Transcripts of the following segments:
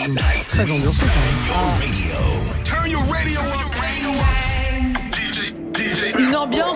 Très ambiancé quand même. Une ambiance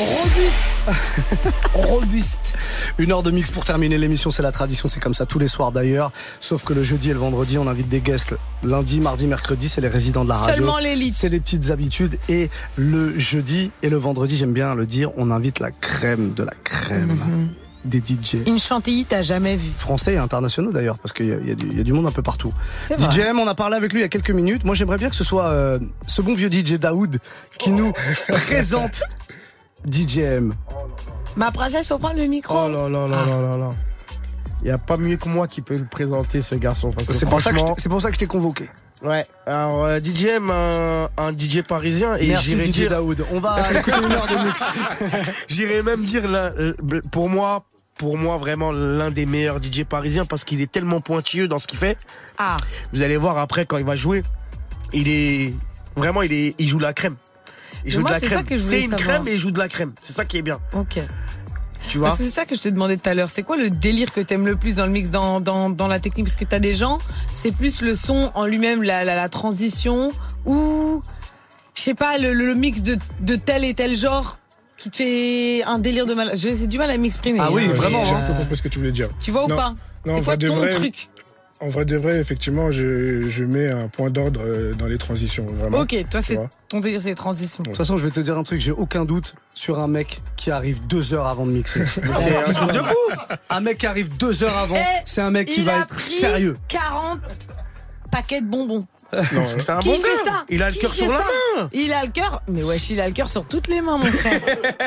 robuste. 1 heure de mix pour terminer l'émission, c'est la tradition, c'est comme ça tous les soirs d'ailleurs. Sauf que le jeudi et le vendredi, on invite des guests. Lundi, mardi, mercredi, c'est les résidents de la radio. Seulement l'élite. C'est les petites habitudes. Et le jeudi et le vendredi, j'aime bien le dire, on invite la crème de la crème. Des DJ. Une chantilly t'as jamais vu. Français et internationaux d'ailleurs, parce qu'il y a du monde un peu partout. C'est vrai. DJ M, on a parlé avec lui il y a quelques minutes. Moi j'aimerais bien que ce soit ce bon vieux DJ Daoud qui nous présente DJ M. Ma princesse, faut prendre le micro. Oh là là là là là. Il n'y a pas mieux que moi qui peut le présenter, ce garçon. Parce que c'est pour ça que je t'ai convoqué. Ouais, alors DJ M, un DJ parisien. Et merci j'irais DJ dire... Daoud. On va écouter 1 heure de mix. J'irais même dire, pour moi, vraiment l'un des meilleurs DJ parisiens parce qu'il est tellement pointilleux dans ce qu'il fait. Ah. Vous allez voir après quand il va jouer, il joue de la crème. Il joue de la crème. C'est une crème et il joue de la crème. C'est ça qui est bien. Ok. Tu vois? Parce que c'est ça que je te demandais tout à l'heure. C'est quoi le délire que t'aimes le plus dans le mix, dans la technique? Parce que t'as des gens, c'est plus le son en lui-même, la transition, ou je sais pas, le mix de tel et tel genre qui te fait un délire de mal. J'ai du mal à m'exprimer. Ah oui, vraiment. J'ai un peu compris ce que tu voulais dire. Tu vois ou pas? C'est quoi ton truc? En vrai de vrai, effectivement, je mets un point d'ordre dans les transitions, vraiment. Ok, toi, ton délire, c'est les transitions. De toute façon, je vais te dire un truc, j'ai aucun doute sur un mec qui arrive 2 heures avant de mixer. C'est un truc de fou! Un mec qui arrive 2 heures avant, c'est un mec qui va être sérieux. 40 paquets de bonbons. Non, c'est un bon gars. Fait ça? Il a le cœur sur la main. Il a le cœur, mais wesh, il a le cœur sur toutes les mains, mon frère.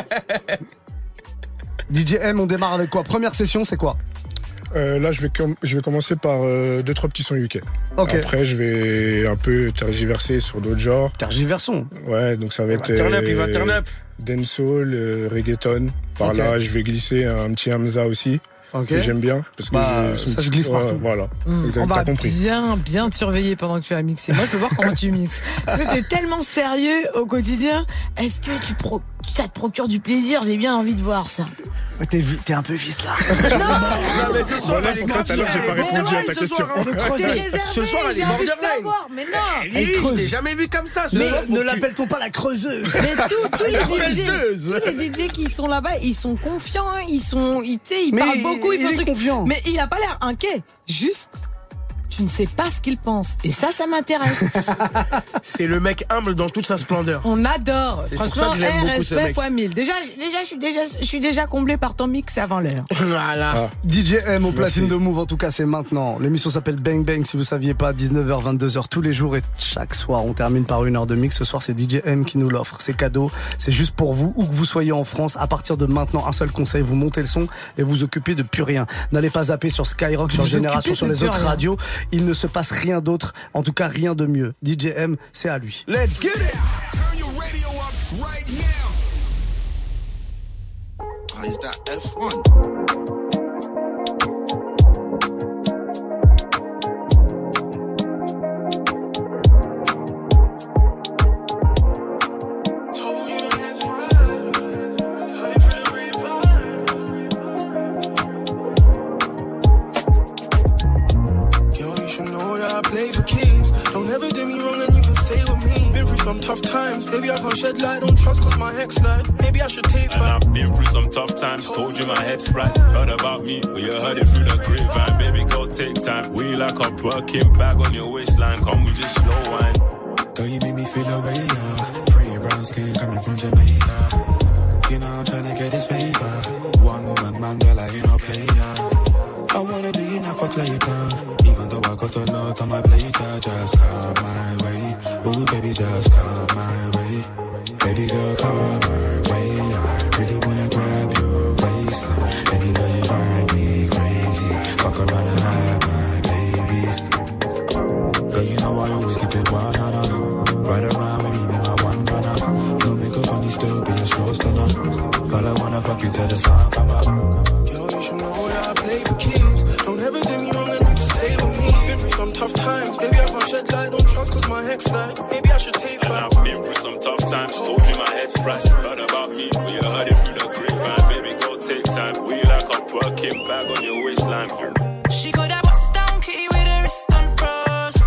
DJ M, on démarre avec quoi? Première session, c'est quoi? Là, je vais commencer par 2-3 petits sons UK. Okay. Après, je vais un peu tergiverser sur d'autres genres. Tergiversons. Ouais, donc ça va être il va turn up. dancehall, reggaeton. Par là, je vais glisser un petit Hamza aussi. Que j'aime bien parce que ça se glisse partout. Voilà. On va bien te surveiller pendant que tu vas mixer. Moi, je veux voir comment tu mixes. T'es tellement sérieux au quotidien. Est-ce que ça te procure du plaisir? J'ai bien envie de voir ça. T'es un peu vicelard. Non, mais ce soir, j'ai pas répondu à ta question. Ce soir, elle est borderline. Mais non. Je t'ai jamais vu comme ça. Mais ne l'appelle-t-on pas la creuseuse? Mais tous les DJ qui sont là-bas, ils sont confiants. Ils parlent beaucoup. Il est confiant. Mais il a pas l'air inquiet. Juste, tu ne sais pas ce qu'il pense. Et ça m'intéresse. C'est le mec humble dans toute sa splendeur. On adore. C'est franchement, pour ça que j'aime beaucoup ce mec. fois 1000. Déjà, je suis déjà comblé par ton mix avant l'heure. Voilà. DJ M au platine de Move, en tout cas, c'est maintenant. L'émission s'appelle Bang Bang, si vous saviez pas, 19h, 22h tous les jours et chaque soir. On termine par 1 heure de mix. Ce soir, c'est DJ M qui nous l'offre. C'est cadeau. C'est juste pour vous, où que vous soyez en France. À partir de maintenant, un seul conseil, vous montez le son et vous occupez de plus rien. N'allez pas zapper sur Skyrock, sur Génération, sur les autres radios. Il ne se passe rien d'autre, en tout cas rien de mieux. DJ M, c'est à lui. Let's get it! Turn your radio up right now. Oh, is that F1? Play for keeps. Don't ever do me wrong and you can stay with me. Been through some tough times. Baby, I can't shed light. Don't trust cause my hex lied. Maybe I should take back. And I've been through some tough times. Told you my head's right. Heard about me, but you heard it through the grapevine. Baby, go take time. We like a Birkin bag on your waistline. Come we just slow wine. Girl, you make me feel away, yeah. Pretty brown skin coming from Jamaica. You know I'm trying to get this paper. One woman, man, girl, I ain't no player. I wanna do you now, fuck later. Even though I got a lot on my plate, just come my way. Ooh, baby, just come my way. Baby girl, come my way. I really wanna grab your waistline. Baby girl, you drive me crazy. Fuck around and have my babies. Girl, you know I always keep it 100. Ride around with even my one runner. No makeup on you, still be a slow stunner. But I wanna fuck you till the sun come up. Yo, you should know that I play for keeps. Don't ever do me wrong and you just stay with me. Been through some tough times. Baby, I can't shed light. Don't trust cause my hex lied. Maybe I should take back. And I've been through some tough times. Told you my head's right. Heard about me, but you heard it through the grapevine. Baby, go take time. We like a Birkin bag on your waistline. She got that bust down kitty with her wrist unfroze.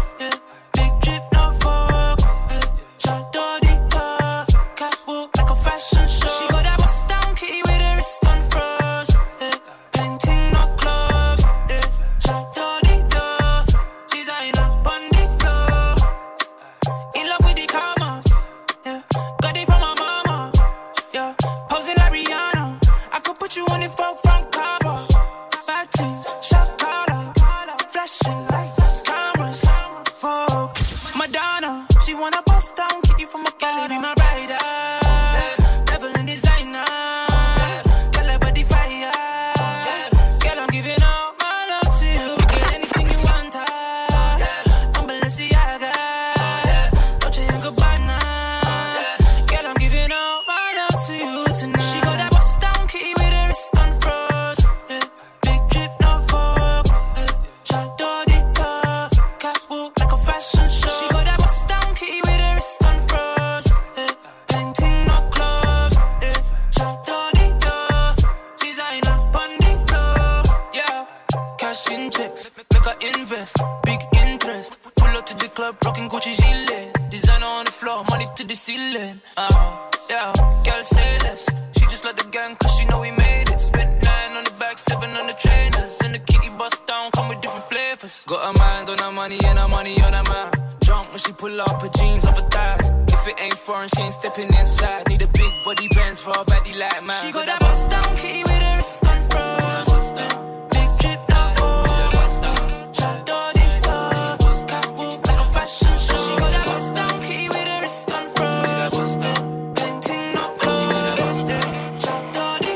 invest, big interest. Pull up to the club, rocking Gucci gilet. Designer on the floor, money to the ceiling. Yeah, girl say less. She just like the gang cause she know we made it. Spent 9 on the back, 7 on the trainers. And the kitty bust down, come with different flavors. Got a mind on her money and her money on her mind. Drunk when she pull up her jeans off her thighs. If it ain't foreign, she ain't stepping inside. Need a big body bands for a body like mine. She got that bust down kitty with her wrist on froze. Big drip now for shot dirty clothes. Catwalk like a fashion show. She got that bust down kitty with her wrist on froze. Painting not clothes. Shot dirty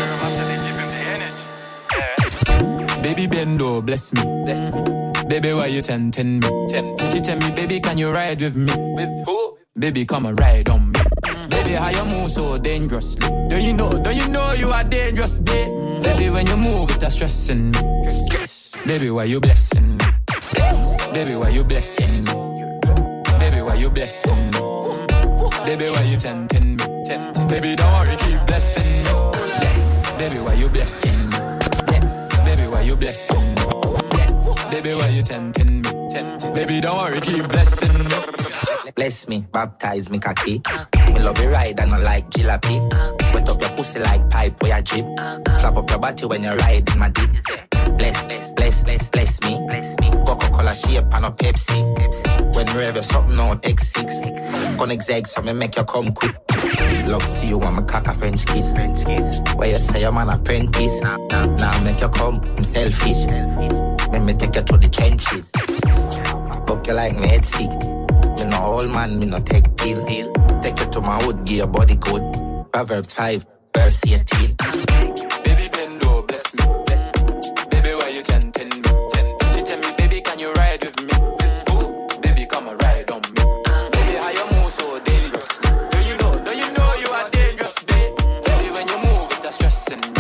clothes. Baby Bendo, bless me. Baby, why you tempting me? She tell me, baby, can you ride with me? With who? Baby, come and ride on me. Baby, how you move so dangerously? Don't you know you are dangerous, babe? Baby, when you move, it's stressing me. Baby, why you blessing me? Baby, why you blessing me? Baby, why you blessing me? Baby, why you tempting me? Baby, don't worry, keep blessing me. Baby, why you blessing me? Baby, why you blessing me? Baby, why you tempting me? Baby, don't worry, keep blessing me. Bless me, baptize me cocky. Me love you ride and I like jalopy. Wet up your pussy like pipe where you drip. Slap up your body when you ride in my deep. Bless me. Coca-Cola shape and a Pepsi. When we have something no X6. Gonna exeg so me make you come quick. Love see you want me cock a French kiss. Where you say I'm an apprentice. Now make you come, I'm selfish. Let me take you to the trenches. Book you like me head sick. Me no old man, me no take pill. Take you to my hood, give your body good. Proverbs 5, verse 18. Baby Bendo, bless me. Baby, why you tempting me? She tell me, baby, can you ride with me? Baby, come and ride on me. Baby, how you move so dangerous? Don't you know you are dangerous, babe? Baby, when you move, it's stressing me.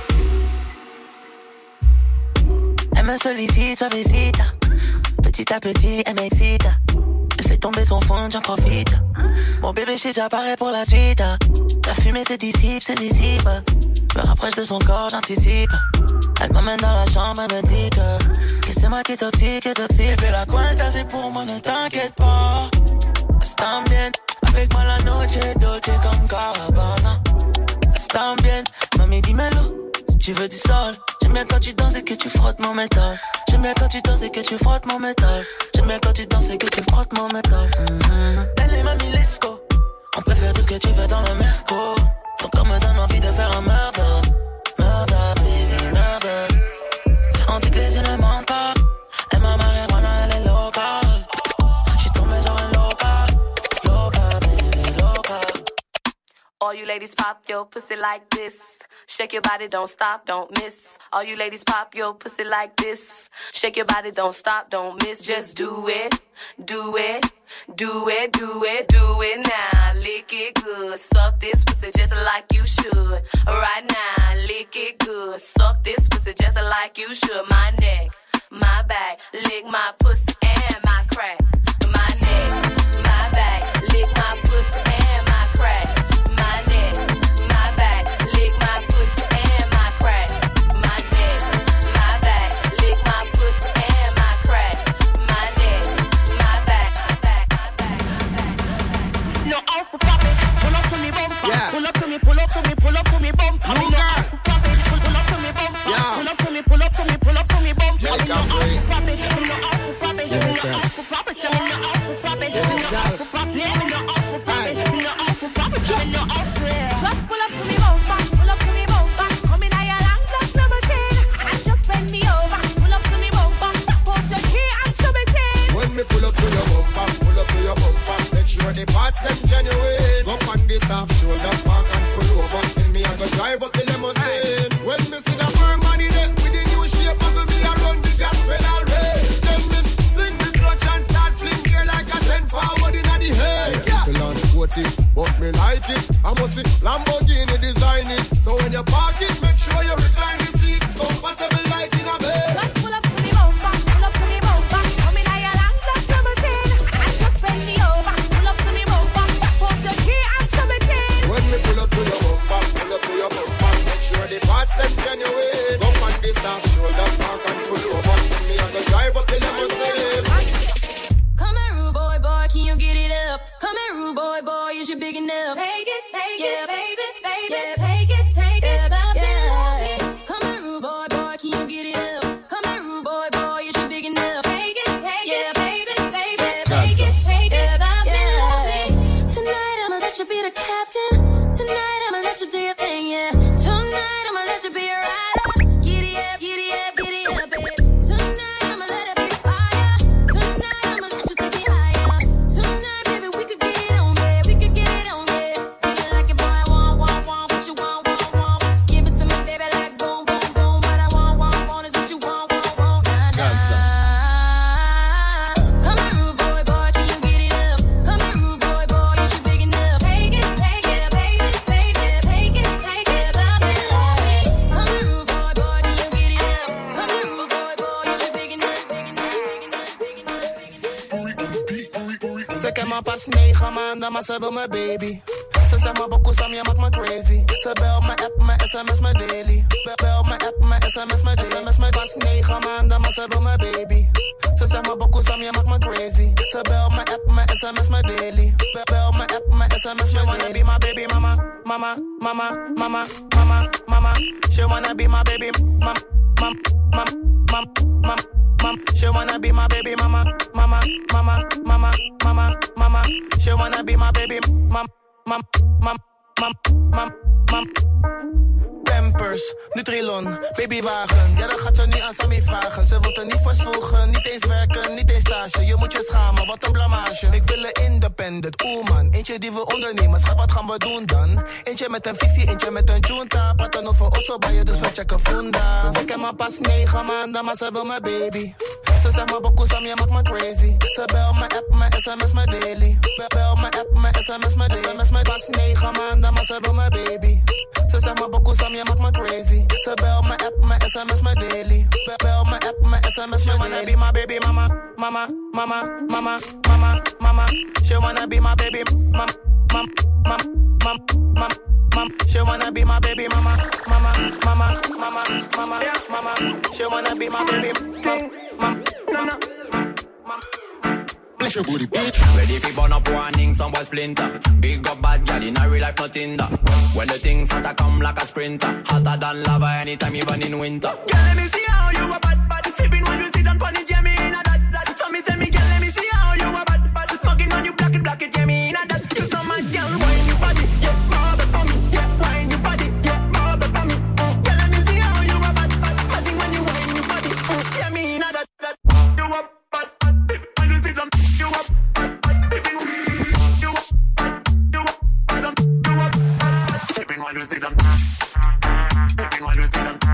Elle me sollicite, suavecita. Petit à petit, elle m'excite. Elle fait tomber son fond, j'en profite. Mon bébé, j'suis déjà paré pour la suite. La fumée se dissipe. Je me rapproche de son corps, j'anticipe. Elle m'amène dans la chambre, elle me dit que c'est moi qui est toxique. Et puis la cuenta, c'est pour moi, ne t'inquiète pas. Están bien, avec moi la noche est dolce comme Carabana. Están bien, mami, dis-moi-le. Si tu veux du sol, j'aime bien quand tu danses et que tu frottes mon métal. J'aime bien quand tu danses et que tu frottes mon métal. J'aime bien quand tu danses et que tu frottes mon métal. Elle est mamie, let's go. On peut faire tout ce que tu veux dans le merco. Ton corps me donne envie de faire un murder. Murder, baby, murder. On dit que les yeux ne mentent pas. Et ma marijuana, elle est locale. J'suis tombé sur un local. Local, baby, local. All you ladies pop your pussy like this. Shake your body, don't stop, don't miss. All you ladies pop your pussy like this. Shake your body, don't stop, don't miss. Just do it, do it, do it, do it, do it now. Lick it good, suck this pussy just like you should. Right now, lick it good, suck this pussy just like you should. My neck, my back, lick my pussy and my crack. My neck, my back, lick my pussy and my crack. Pull up to me, pull up to me, pull up to me, bump. Pull up to me, bump. Pull up to me, pull up to me, pull up to me, bump. Just pull up to me, bump. Come in your long black limousine and just bend me over. Pull up to me, bump. Tap out your key and show me thing. When me pull up to your bumper, make sure the parts them genuine. Up on this half shoulder, park and pull over. And me I go drive up the limousine. When me see the firm money there with the new shape, I will be around the gas pedal race. Then me sing the clutch and start fling gear like a 10 forward in the head. Yeah. But me like it. I must see Lamborghini design it. So when you park it, make sure you recline the seat. Comfortable like in a bed. Just pull up to me bumper, pull up to me bumper. Come in your long black limousine and just bend me over. Pull up to me bumper, put the key and show me thing. When me pull up to your bumper, make sure the parts them genuine. Come on this half shoulder, park and pull over. And me I go drive up Ze ken me pas 9 maanden, maar ze wil me baby. Ze zegt me bokoe je maakt me crazy. Ze bel me, app me, sms me daily. Bel me, app me, sms me daily. SMS me pas 9 maanden, maar ze wil me baby. Ze zegt me bokoe je maakt me crazy. Ze bel me, app me, sms me daily. Bel me, app me, sms me daily. She wanna be my baby mama, mama, mama, mama, mama, mama. She wanna be my baby mama, mama, mama, mama, mama. She wanna be my baby mama, mama, mama, mama, mama, mama. She wanna be my baby mama, mama, mama, mama, mama. Pampers, Nutrilon, babywagen. Ja, dan gaat ze niet aan Sammy vragen. Ze wil er niet voor zwoegen, niet eens werken, niet eens stage. Je moet je schamen, wat een blamage. Ik wil een independent, man. Eentje die wil ondernemen, schat, wat gaan we doen dan? Eentje met een visie, eentje met een junta. Praten over osso bij je, dus we checken funda. Ze ken me pas 9 maanden, maar ze wil me baby. Ze zegt me bokoe Sam, je maakt me crazy. Ze bel me, app me, sms me daily. Bel me, app me, sms me daily. SMS me pas 9 maanden, maar ze wil me baby. Ze zegt me bokoe Sam, je maakt me crazy. Ze bel me, app me, sms me daily. Bel me, app me, sms me daily. She wanna be my baby mama, mama, mama, mama, mama, mama. She wanna be my baby mama, mama, mama, mama, mama. She wanna be my baby mama, mama, mama, mama, mama, mama. She wanna be my baby mama, mama, mama. Bless your booty, bitch. Ready for burn up warning, some boy splinter. Big up bad gal in a real life, nothing that. When the things hotter come like a sprinter. Hotter than lava anytime, even in winter. Girl, let me see how you a bad, bad. Sipping when you sit on pony, yeah, me in a that. So me tell me, girl, let me see how you a bad, bad. Smoking on you, black it, yeah, me in a that. You know my girl, wine your body, yeah, rub it for me, yeah, wine your body, yeah, rub it for me. Girl, let me see how you a bad, bad. Nothing when you wine your body, yeah, me in a that. You a bad, bad. When you sit on, you a bad, bad. Sipping when you a bad, you a bad, you a bad. Sipping when you sit on, sipping when you sit on.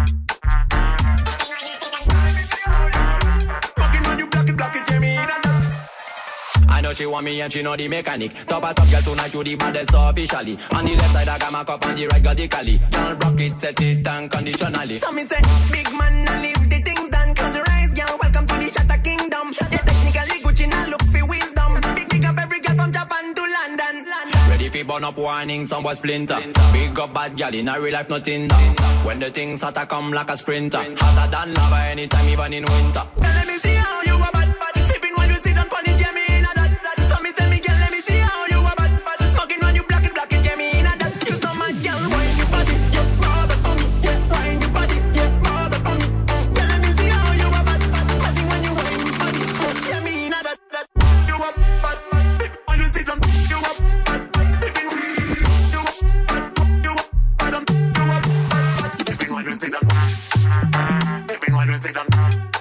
I know she want me and she know the mechanic. Top a top girl tonight, you the baddest officially. On the left side I got my cup, on the right got the cali. Girl rock it, set it unconditionally. So me say, big man, and leave the things done. Close your eyes, girl, welcome to the Shatter Kingdom. Yeah, technically Gucci now look for wisdom. Big up every girl from Japan to London. Ready for burn up warning, some boy splinter. Big up bad girl in a real life, nothing that. When the things hotter come like a sprinter. Hotter than lava anytime, even in winter. Now let me see how you a bad, bad. Sipping when you sit on pony, Jamie. Tell me, girl, let me see how you a bad, bad. Smoking when you black it, yeah, me in a that. You know my girl, wine your body, yeah, rub it for me, yeah, wine your body, yeah, rub it for me. Girl, let me see how you a bad, bad. Nothing when you wine your body, yeah, me in a that. You a bad, bad. When you sit down, you a bad, bad. You a bad, you a bad, you a bad. Sipping when you sit down, sipping when you sit down.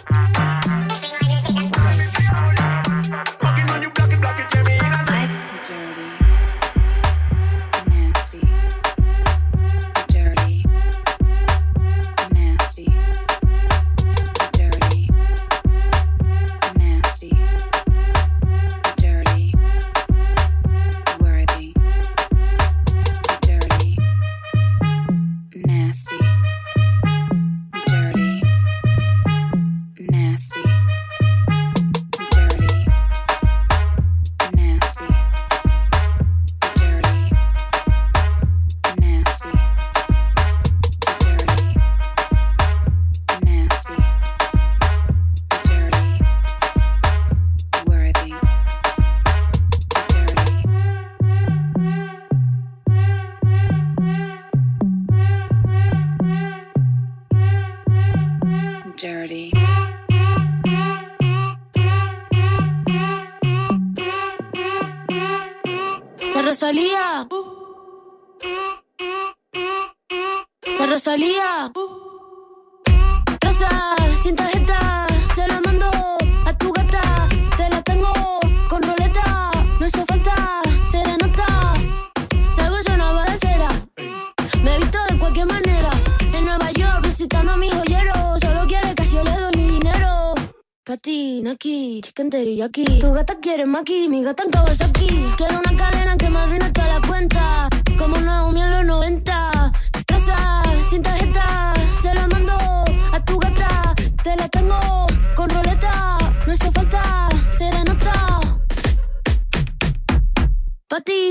La Rosalía. Rosa, sin tarjeta, se la mando a tu gata. Te la tengo con roleta, no hizo falta serenata. Salgo yo una balacera, me he visto de cualquier manera. En Nueva York visitando a mi joyero. Solo quiere que yo le doy mi dinero. Pati, Naki, chicken teriyaki. Tu gata quiere maki, mi gata en Kawasaki. Quiero una cadena que me arruine toda la cuenta, como Naomi en los 90. Rosa, sin tarjeta, se la mando a tu gata. Te la tengo con roleta, no hizo falta serenata.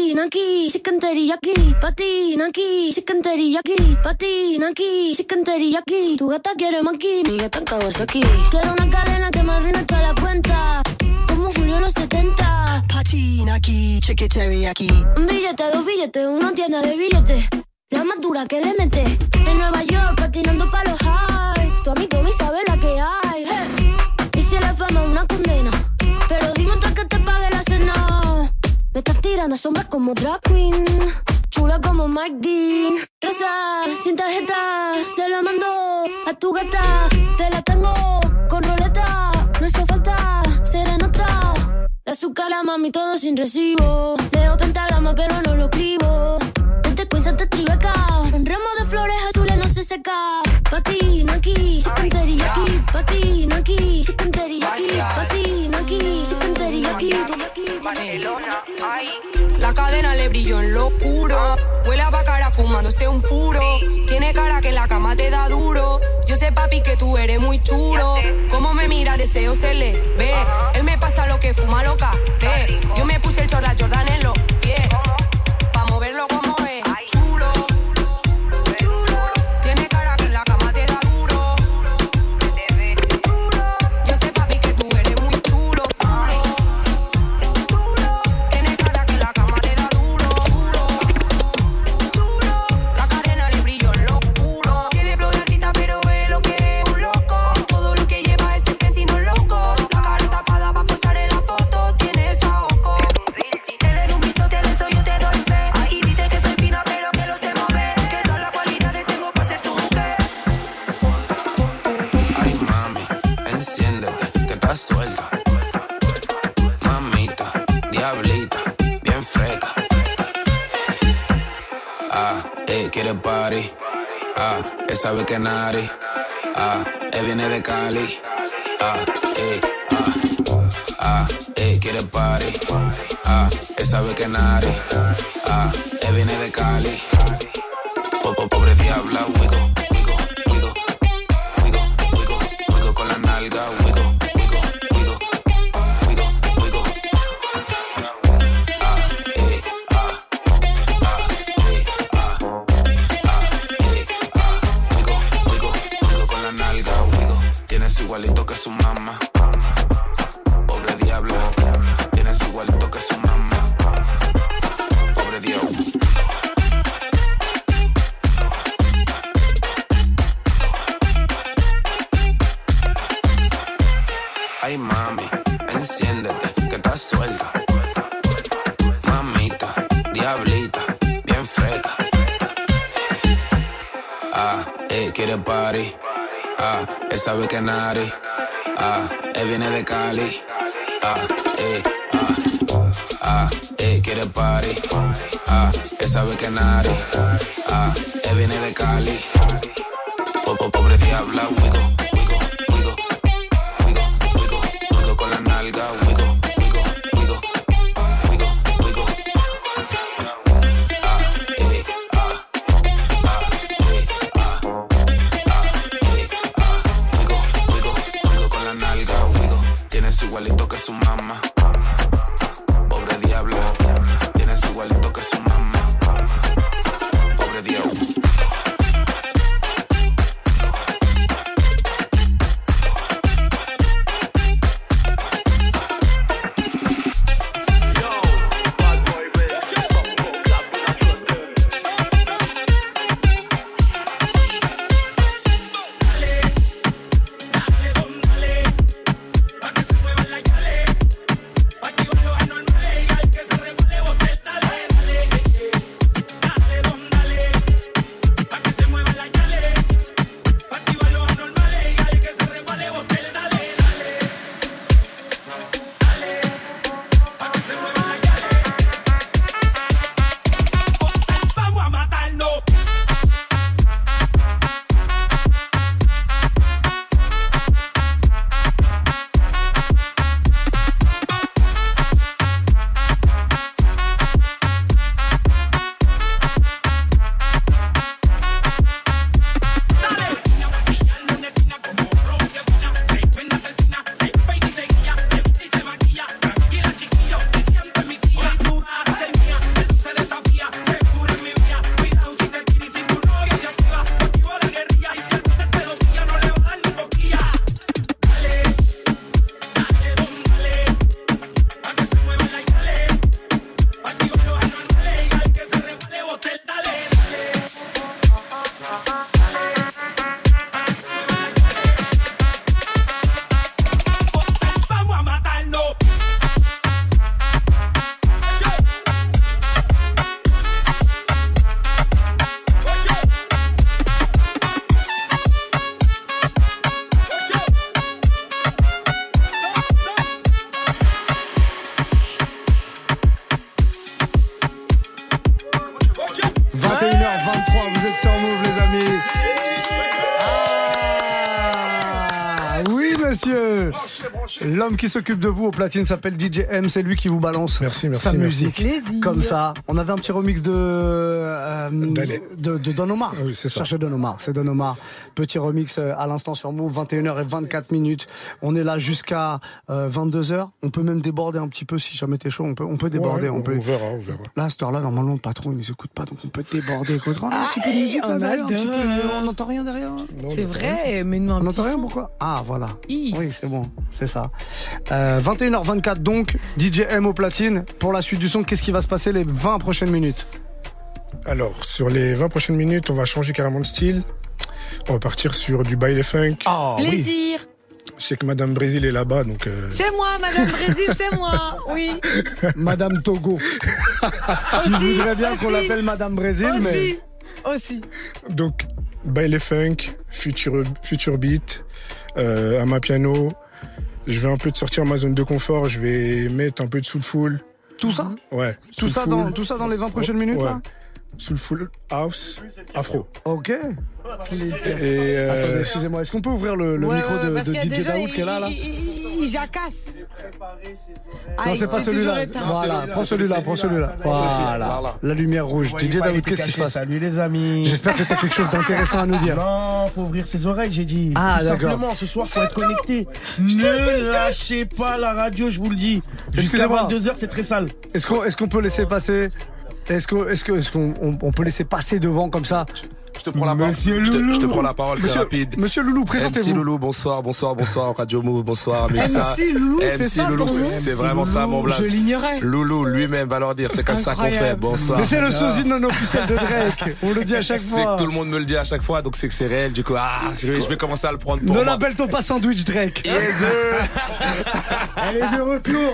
Patina aquí, chicken teriyaki. Patina aquí, chicken teriyaki. Patina aquí, chicken teriyaki. Tu gata quiere maki, mi gata en Kawasaki. Quiero una cadena que me arruine toda la cuenta, como Julio en los 70. Patina aquí, chicken teriyaki. Un billete, dos billetes, una tienda de billetes. La más dura que le mete. En Nueva York patinando pa' los highs. Tu amigo me sabe la que hay. Hey. Y si la fama es una condena, pero dime antes que te pague la cena. Me estás tirando sombras como drag queen, chula como Mike Dean. Rosa, sin tarjeta, se la mando a tu gata. Te la tengo con roleta, no hizo falta serenata. De azúcar a mami todo sin recibo. Leo pentagrama pero no lo escribo. Te tribeca, un ramo de flores azules no se seca. Patina aquí, chicken teriyaki. Patina aquí, chicken teriyaki. Patina aquí, chicken teriyaki. La cadena le brilló en lo oscuro. Huele a bacara fumándose un puro. Tiene cara que en la cama te da duro. Yo sé, papi, que tú eres muy chulo. Como me mira, deseo se le ve. Él me pasa lo que fuma loca. Yo me puse el chorla Jordan en los pies, pa' moverlo como es. Suelta, mamita, diablita, bien freca. Quiere party. Él sabe que nari. Él viene de Cali. Quiere party. Él sabe que nari. Él viene de Cali. Pobre diabla, wigo, wigo, wigo, wigo, wigo, wigo con la nalga, wigo. Igualito que su mamá. Pobre diabla, tienes igualito que su mamá. Pobre diablo. Ay mami, enciéndete que estás suelta. Mamita, diablita, bien freca. Quiere party. Él sabe que nari. Él viene de Cali. Quiere party. Él sabe que nari. Él viene de Cali. Pobre diabla, wigo, wigo, wigo, wigo, wigo, wigo con la nalga, wigo, wigo, wigo, wigo, wigo. Tienes igualito que su mamá. Pobre diabla, tienes igualito que su mamá. Pobre diablo. messieurs. L'homme qui s'occupe de vous au platine s'appelle DJ M. C'est lui qui vous balance sa musique. Comme ça. On avait un petit remix de Don Omar. Oui, c'est ça. Cherchez Don Omar. C'est Don Omar. Petit remix à l'instant sur Move, 21h24. On est là jusqu'à 22h. On peut même déborder un petit peu si jamais t'es chaud. On peut déborder. On verra. Là, à cette heure-là, normalement, le patron, il nous écoute pas, donc on peut déborder. Un petit peu de musique là derrière, on n'entend rien derrière. C'est vrai, mais non, on n'entend rien, pourquoi? Ah, voilà. Oui, c'est bon, c'est ça. 21h24, donc, DJ M au platine. Pour la suite du son, qu'est-ce qui va se passer les 20 prochaines minutes? Alors, sur les 20 prochaines minutes, on va changer carrément de style. On va partir sur du baile funk. Plaisir. Je sais que Madame Brésil est là-bas, donc... C'est moi, Madame Brésil, c'est moi, oui. Madame Togo. Qui voudrait bien qu'on l'appelle Madame Brésil, mais... Aussi. Donc, baile funk, future beat, à ma piano. Je vais un peu sortir ma zone de confort, je vais mettre un peu de soulful. Tout ça? Ouais. Tout ça dans les 20 prochaines minutes, là? Soulful house, afro. Ok. Attendez, excusez-moi, est-ce qu'on peut ouvrir le micro de DJ Daoud qui est là? Il jacasse. Non, c'est pas celui-là. Voilà, prends celui-là. Voilà. La lumière rouge. DJ Daoud, qu'est-ce qui se passe? Salut les amis. J'espère que t'as quelque chose d'intéressant à nous dire. Non, faut ouvrir ses oreilles, j'ai dit. Ah, tout d'accord. simplement, ce soir, faut être connecté. Ne lâchez pas la radio, je vous le dis. Jusqu'à 22h, c'est très sale. Est-ce qu'on peut laisser passer? Est-ce qu'on peut laisser passer devant comme ça? Je te prends la parole. Je te prends la parole très rapide. Monsieur Loulou, présentez-vous. MC Loulou, bonsoir. Radio Move, bonsoir. MC Loulou, c'est ça ton nom? C'est vraiment ça mon blaze. Je l'ignorais. Loulou, lui-même va leur dire, c'est comme ça qu'on fait. Bonsoir. Mais c'est le sosie non officiel de Drake. On le dit à chaque fois. C'est que tout le monde me le dit à chaque fois, donc c'est que c'est réel. Du coup, je vais commencer à le prendre pour moi. Ne l'appelle-toi pas Sandwich Drake. Elle est de retour.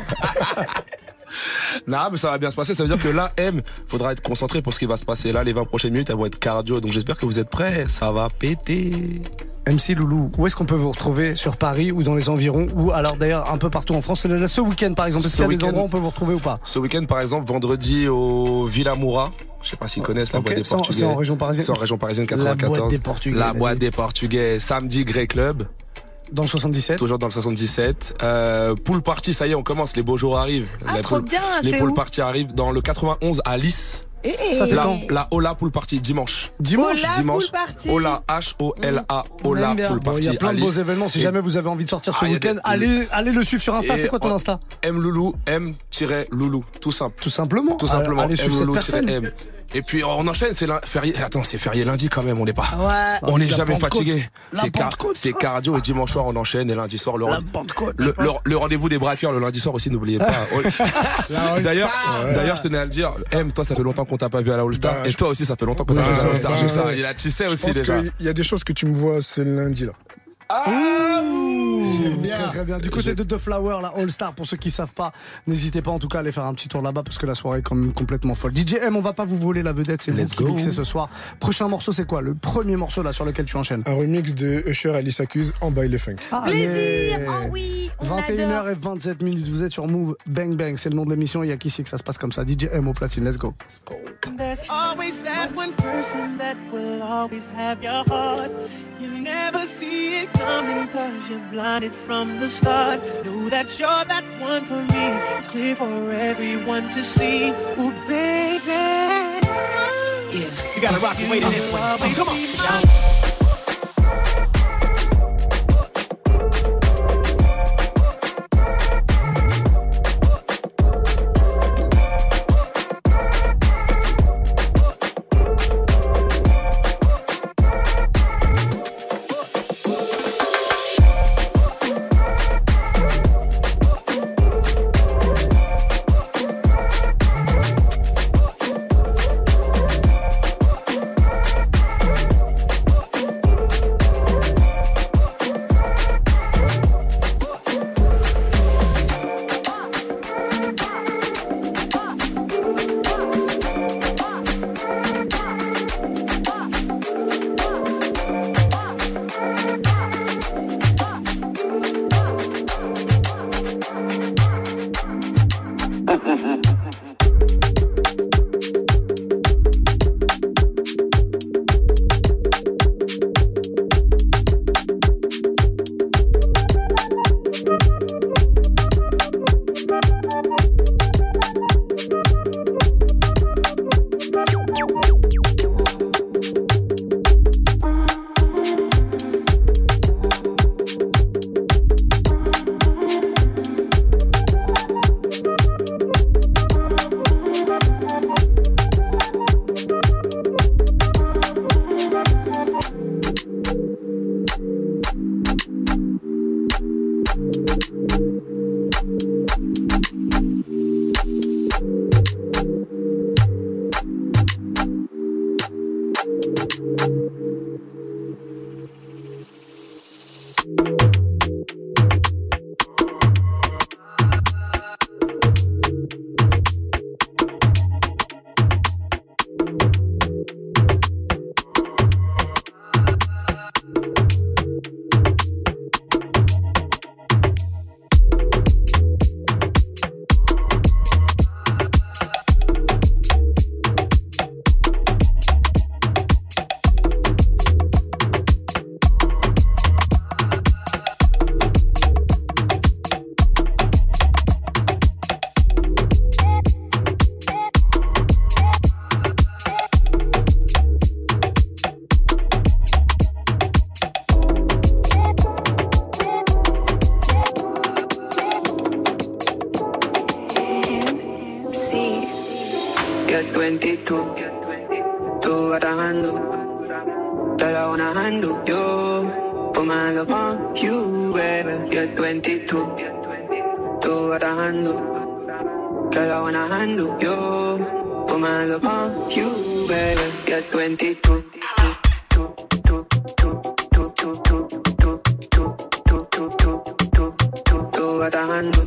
Non, mais ça va bien se passer. Ça veut dire que là, faudra être concentré pour ce qui va se passer. Là, les 20 prochaines minutes, elles vont être cardio. Donc j'espère que vous êtes prêts. Ça va péter. MC Loulou, où est-ce qu'on peut vous retrouver sur Paris ou dans les environs ou alors d'ailleurs un peu partout en France? Ce week-end par exemple, est-ce qu'il y a des endroits où on peut vous retrouver ou pas? Ce week-end par exemple, vendredi au Villa Moura. Je sais pas s'ils connaissent la boîte des Portugais. C'est en région parisienne. C'est en région parisienne 94. La boîte des Portugais. Samedi, Grey Club. Dans le 77. Toujours dans le 77. Pool party, ça y est, on commence. Les beaux jours arrivent. Trop bien. Les pool party arrivent dans le 91 à Lys. Ça c'est quand? La Ola Pool Party dimanche. Dimanche. Ola H-O-L-A. Ola Pool Party. Il y a plein de beaux événements. Si jamais vous avez envie de sortir ce week-end, allez le suivre sur Insta. C'est quoi ton Insta? M-Loulou, M-Loulou. Tout simple. Tout simplement. Allez suivre cette personne. M. Et puis on enchaîne, c'est férié. Attends, c'est férié lundi quand même, on n'est pas. Ouais. On n'est jamais fatigué. C'est cardio et dimanche soir on enchaîne et lundi soir le rendez-vous des braqueurs le lundi soir aussi, n'oubliez pas. D'ailleurs, je tenais à le dire. Toi, ça fait longtemps qu'on t'a pas vu à la All Star et toi aussi, ça fait longtemps qu'on t'a pas vu à la All Star. J'ai ça. Et là, tu sais aussi déjà. Il y a des choses que tu me vois ce lundi là. J'aime bien. Très bien. Du côté de The Flower, la All Star, pour ceux qui savent pas, n'hésitez pas en tout cas à aller faire un petit tour là-bas parce que la soirée est quand même complètement folle. DJ M, on va pas vous voler la vedette, c'est vous qui mixez ce soir. Prochain morceau, c'est quoi? Le premier morceau là sur lequel tu enchaînes? Un remix de Usher Alice Accuse en baile funk. Plaisir. Oh oui. 21h27, vous êtes sur Move. Bang Bang, c'est le nom de l'émission. Il y a qu'ici que ça se passe comme ça. DJ M au platine, let's go. There's always that one person that will always have your heart. You never see it coming cause you're blinded from the start. Know that you're that one for me. It's clear for everyone to see. Ooh, baby. Yeah. You gotta rock and wait in this one. Come on. you're 22. Tú what I handle, girl I wanna handle you. Put my hands upon you, baby. You're 22. Tú what I handle, girl I wanna handle you. Put my hands upon you, baby. You're 22. Tú what I handle.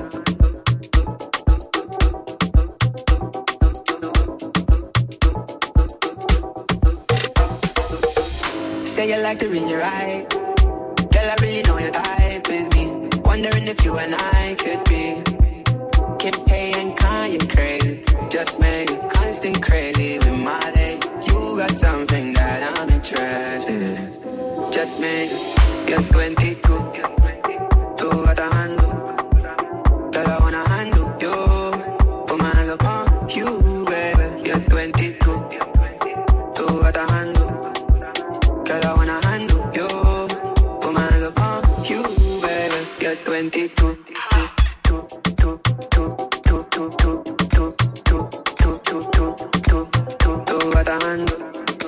Say you like to read your right. Girl, I really know your type is me. Wondering if you and I could be Kim K and Kanye crazy. Just made constant crazy with my day. You got something that I'm interested in. Just made you're 22. Do what I handle. Girl, I wanna handle you. Put my hands upon you, baby. You're 22. Do what I handle. Girl, I wanna handle you. Put my hands upon you, baby. You're 22. Do what I handle.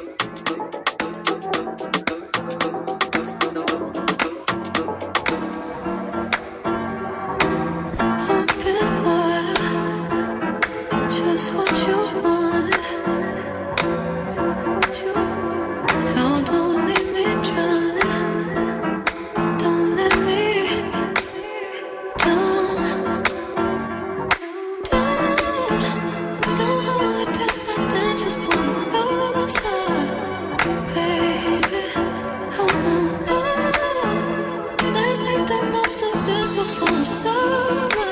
Just what you want. So don't leave me drowning. Don't let me down. Don't hold it back like that. Just pull me closer, baby. Oh no. Let's make the most of this before it's over.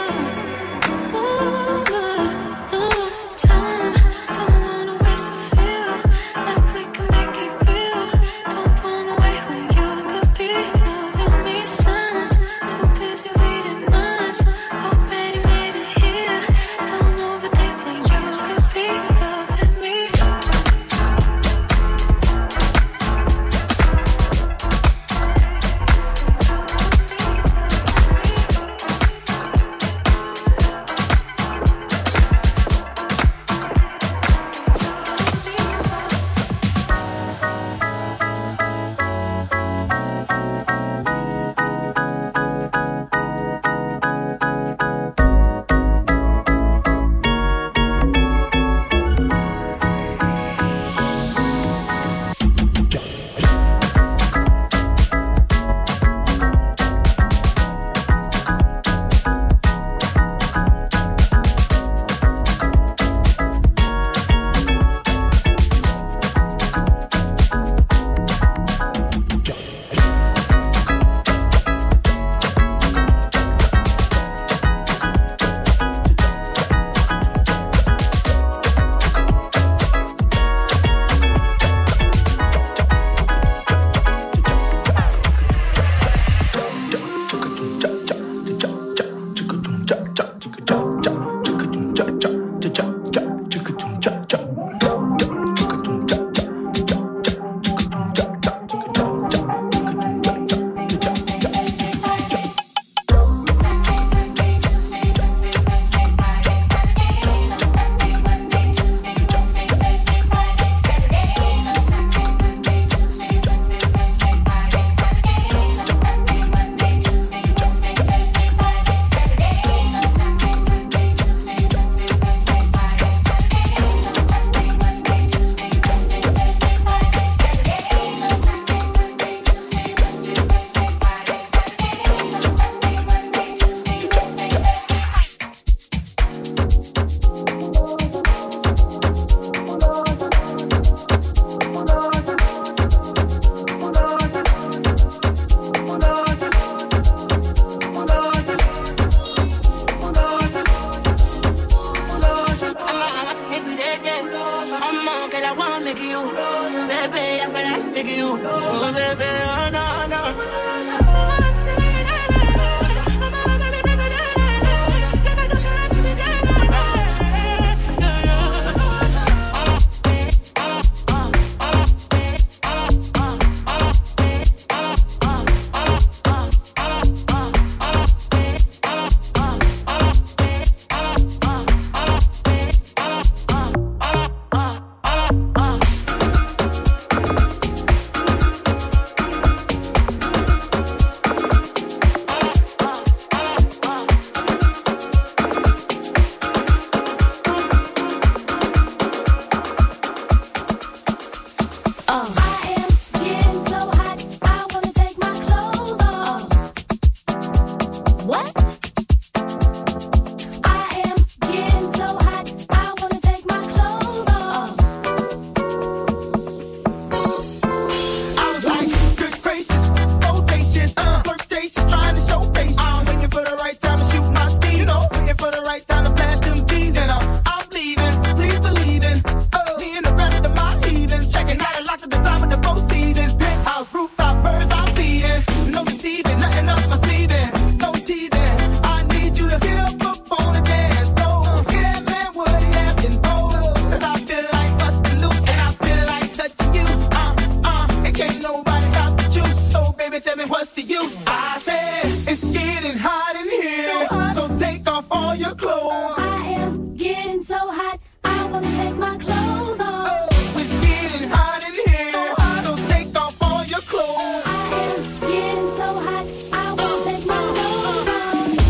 I am getting so hot, I wanna take my clothes off. It's getting hot in here, so take off all your clothes. I am getting so hot, I wanna take my clothes off.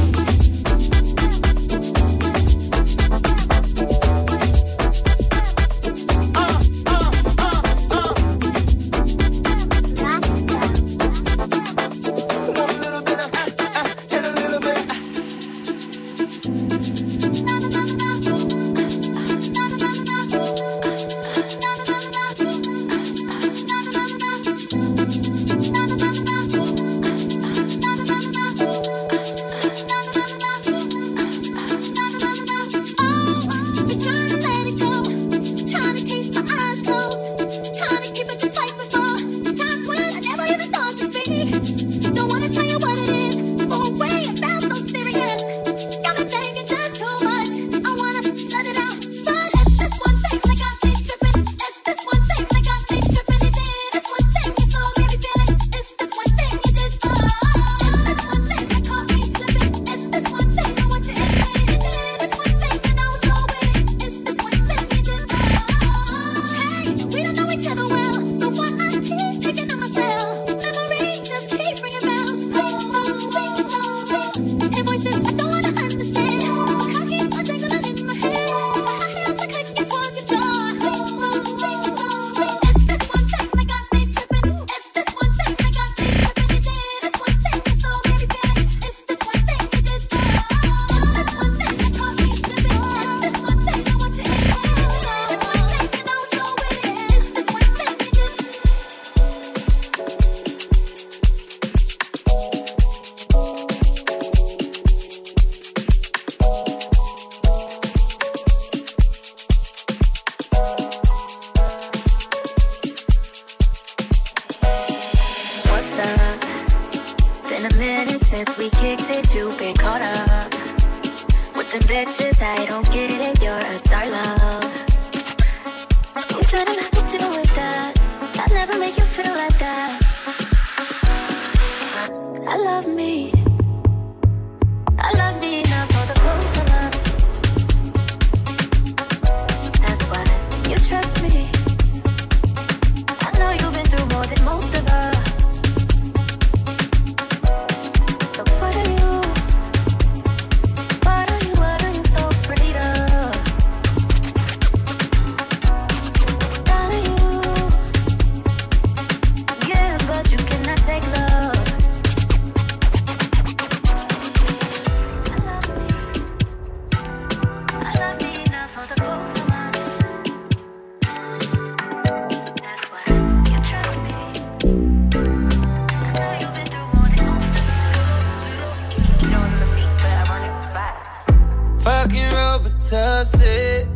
Fucking Robitussin.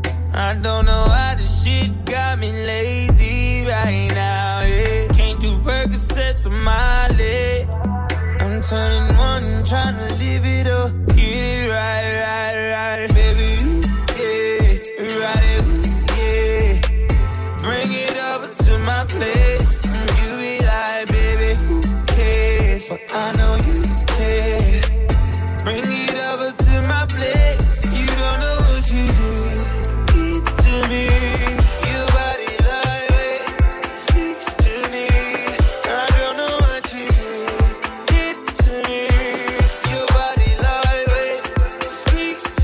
I don't know why this shit got me lazy right now, yeah. Can't do Percocets on my leg. I'm turning one, trying to live it up. Get it right, baby, yeah. Ride it, yeah. Bring it over to my place. You be like, baby, who cares? So I know you care. Bring it over to my place. You don't know what you did to me. Your body lightweight speaks to me. I don't know what you did to me. Your body lightweight speaks to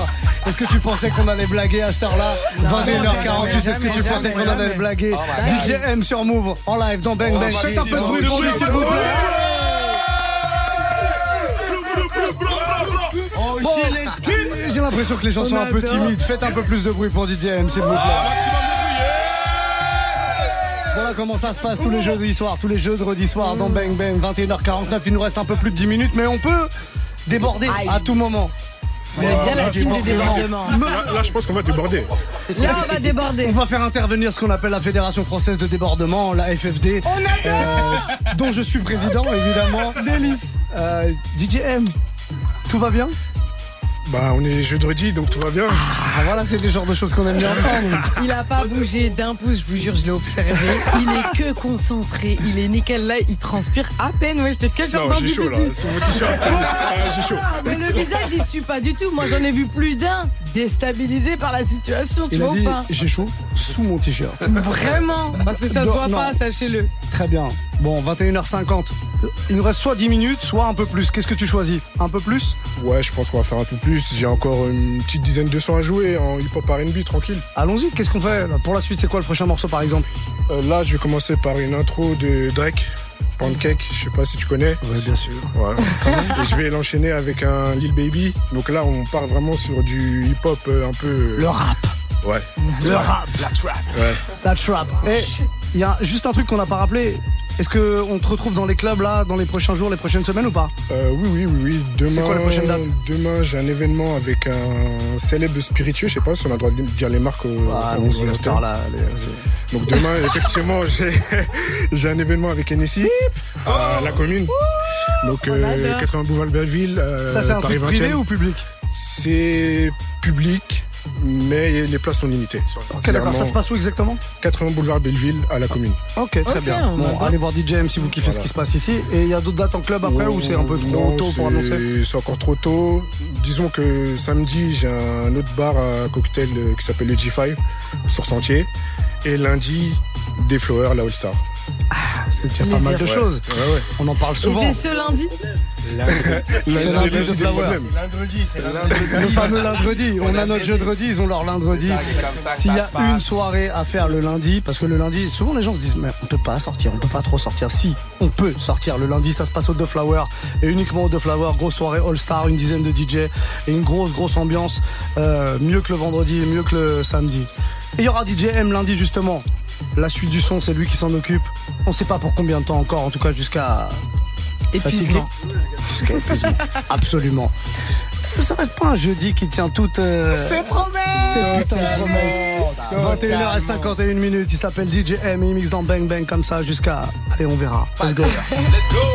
Est-ce que tu pensais qu'on allait blaguer à cette heure-là? 21h48, est-ce que tu pensais qu'on allait blaguer? DJ M sur Move, en live dans Bang Bang. Faites un peu de bruit pour lui, s'il vous plaît. J'ai l'impression que les gens sont un peu timides. Faites un peu plus de bruit pour DJ M, s'il vous plaît. Voilà comment ça se passe tous les jeudis soirs, dans Bang Bang, 21h49. Il nous reste un peu plus de 10 minutes, mais on peut déborder à tout moment. On est bien la team du débordement. Là, je pense qu'on va déborder. Là, on va déborder. On va faire intervenir ce qu'on appelle la Fédération Française de Débordement, la FFD, dont je suis président, évidemment. Délice. DJ M, tout va bien? Bah, on est jeudi, donc tout va bien. Ah, voilà, c'est le genre de choses qu'on aime bien entendre. Il a pas bougé d'un pouce, je vous jure, je l'ai observé. Il est que concentré, il est nickel là, il transpire à peine. Ouais, j'étais quel genre Non, j'ai chaud là, c'est mon t-shirt. J'ai chaud. Mais le visage, il suit pas du tout. Moi, j'en ai vu plus d'un déstabilisé par la situation, tu vois pas? J'ai chaud sous mon t-shirt. Vraiment? Parce que ça se voit pas, sachez-le. Très bien. Bon, 21h50. Il nous reste soit 10 minutes, soit un peu plus. Qu'est-ce que tu choisis? Un peu plus? Ouais, je pense qu'on va faire un peu plus. J'ai encore une petite dizaine de sons à jouer en hip-hop R&B, tranquille. Allons-y, qu'est-ce qu'on fait pour la suite? C'est quoi le prochain morceau par exemple? Là, je vais commencer par une intro de Drake, Pancake, je sais pas si tu connais. Ouais, bien sûr. Ouais. Et je vais l'enchaîner avec un Lil Baby. Donc là, on part vraiment sur du hip-hop un peu... Le rap. Ouais. Le rap. La trap. Ouais. La trap. Et il y a juste un truc qu'on n'a pas rappelé. Est-ce qu'on te retrouve dans les clubs là, dans les prochains jours, les prochaines semaines ou pas? Oui. Demain, c'est quoi les prochaines dates? Demain, j'ai un événement avec un célèbre spiritueux. Je sais pas si on a le droit de dire les marques là. Donc demain, effectivement, j'ai un événement avec Hennessy à la commune. Donc 80 boulevard Belleville. Ça, c'est un truc privé ou public? C'est public. Mais les places sont limitées. Ok, d'accord, ça se passe où exactement? 80 boulevard Belleville à la commune. Ok, très bien. Bon, allez voir DJ M si vous kiffez ce qui se passe ici. Et il y a d'autres dates en club après ou c'est un peu trop tôt pour annoncer? C'est encore trop tôt. Disons que samedi, j'ai un autre bar à cocktail qui s'appelle le G5 sur Sentier. Et lundi, des Flowers, la All Star. Ah, c'est déjà pas mal de choses. Ouais. On en parle souvent. Et c'est ce lundi? Lundi, c'est le problème. Le fameux lundi. On a notre jeudi, ils ont leur lundi. S'il y a une soirée à faire le lundi, parce que le lundi, souvent les gens se disent mais on peut pas sortir, on peut pas trop sortir. Si, on peut sortir. Le lundi, ça se passe au The Flower et uniquement au The Flower. Grosse soirée All Star, une dizaine de DJ et une grosse ambiance. Mieux que le vendredi et mieux que le samedi. Et il y aura DJ M lundi justement. La suite du son, c'est lui qui s'en occupe. On sait pas pour combien de temps encore, en tout cas jusqu'à épuisement. Jusqu'à épuisement. Absolument. Ça reste pas un jeudi qui tient toutes ses promesses. Ses putains de promesses. 21h51 minutes. Il s'appelle DJ M et il mixe dans Bang Bang comme ça jusqu'à... Allez, on verra. Let's go. Let's go.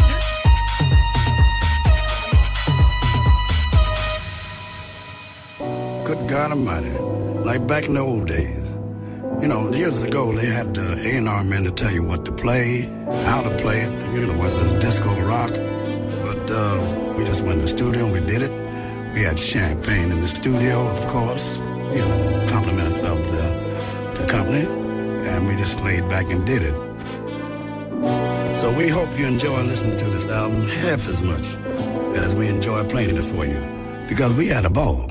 Good God Almighty. Like back in the old days. You know, years ago, they had the A&R men to tell you what to play, how to play it, you know, whether it's disco or rock. But we just went to the studio and we did it. We had champagne in the studio, of course, you know, compliments of the company. And we just laid back and did it. So we hope you enjoy listening to this album half as much as we enjoy playing it for you. Because we had a ball.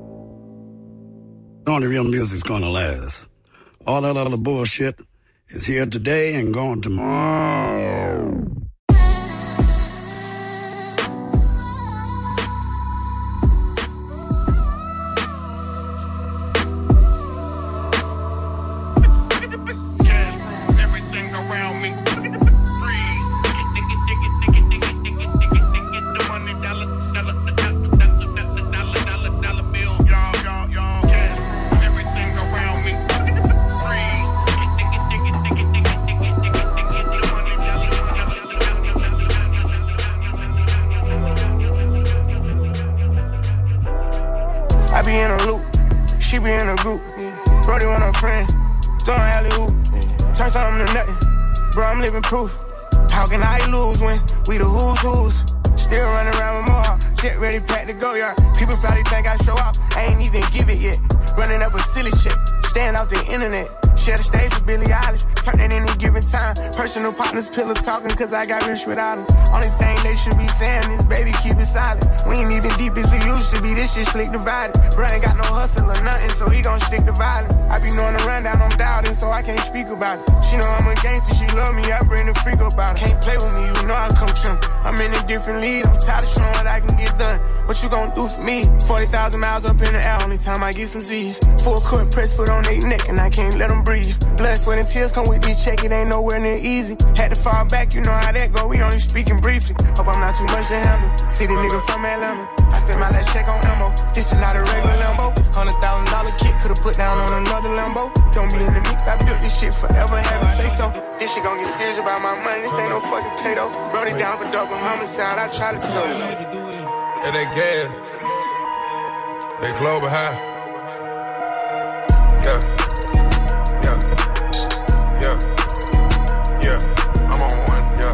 Only real music's gonna last. All that other bullshit is here today and gone tomorrow. Everything around me. I be in a loop, she be in a group. Brody with her friend, throwing alley-oop. Turn something to nothing, bro, I'm living proof. How can I lose when we the who's? Still running around with more, shit ready, packed to go, yard. People probably think I show up, I ain't even give it yet. Running up a silly shit, staying off the internet. Share the stage with Billie Eilish. Turn it any given time. Personal partners, pillow talking, cause I got rich without them. Only thing they should be saying is, baby, keep it silent. We ain't even deep as we used to be, this shit slick divided. Bro ain't got no hustle or nothing, so he gon' stick to violence. I be knowing the rundown, I'm doubting, so I can't speak about it. She know I'm a gangster, she love me, I bring the freak about it. Can't play with me, you know I come trim. I'm in a different league, I'm tired of showing what I can get done. What you gon' do for me? 40,000 miles up in the air, only time I get some Z's. Full court, press foot on their neck, and I can't let them breathe. Blood, sweat, and tears come with this check, it ain't nowhere near easy. Had to fall back, you know how that go, we only speaking briefly. Hope I'm not too much to handle. City nigga from Atlanta, I spent my last check on ammo. This is not a regular Lambo. $100,000 kit, could've put down on another Lambo. Don't be in the mix, I built this shit forever, have it say so. This shit gon' get serious about my money, this ain't no fucking Play-Doh. Wrote it down for double homicide, I try to tell you. Yeah, they gas. They global high. Yeah. I'm on one. Yeah.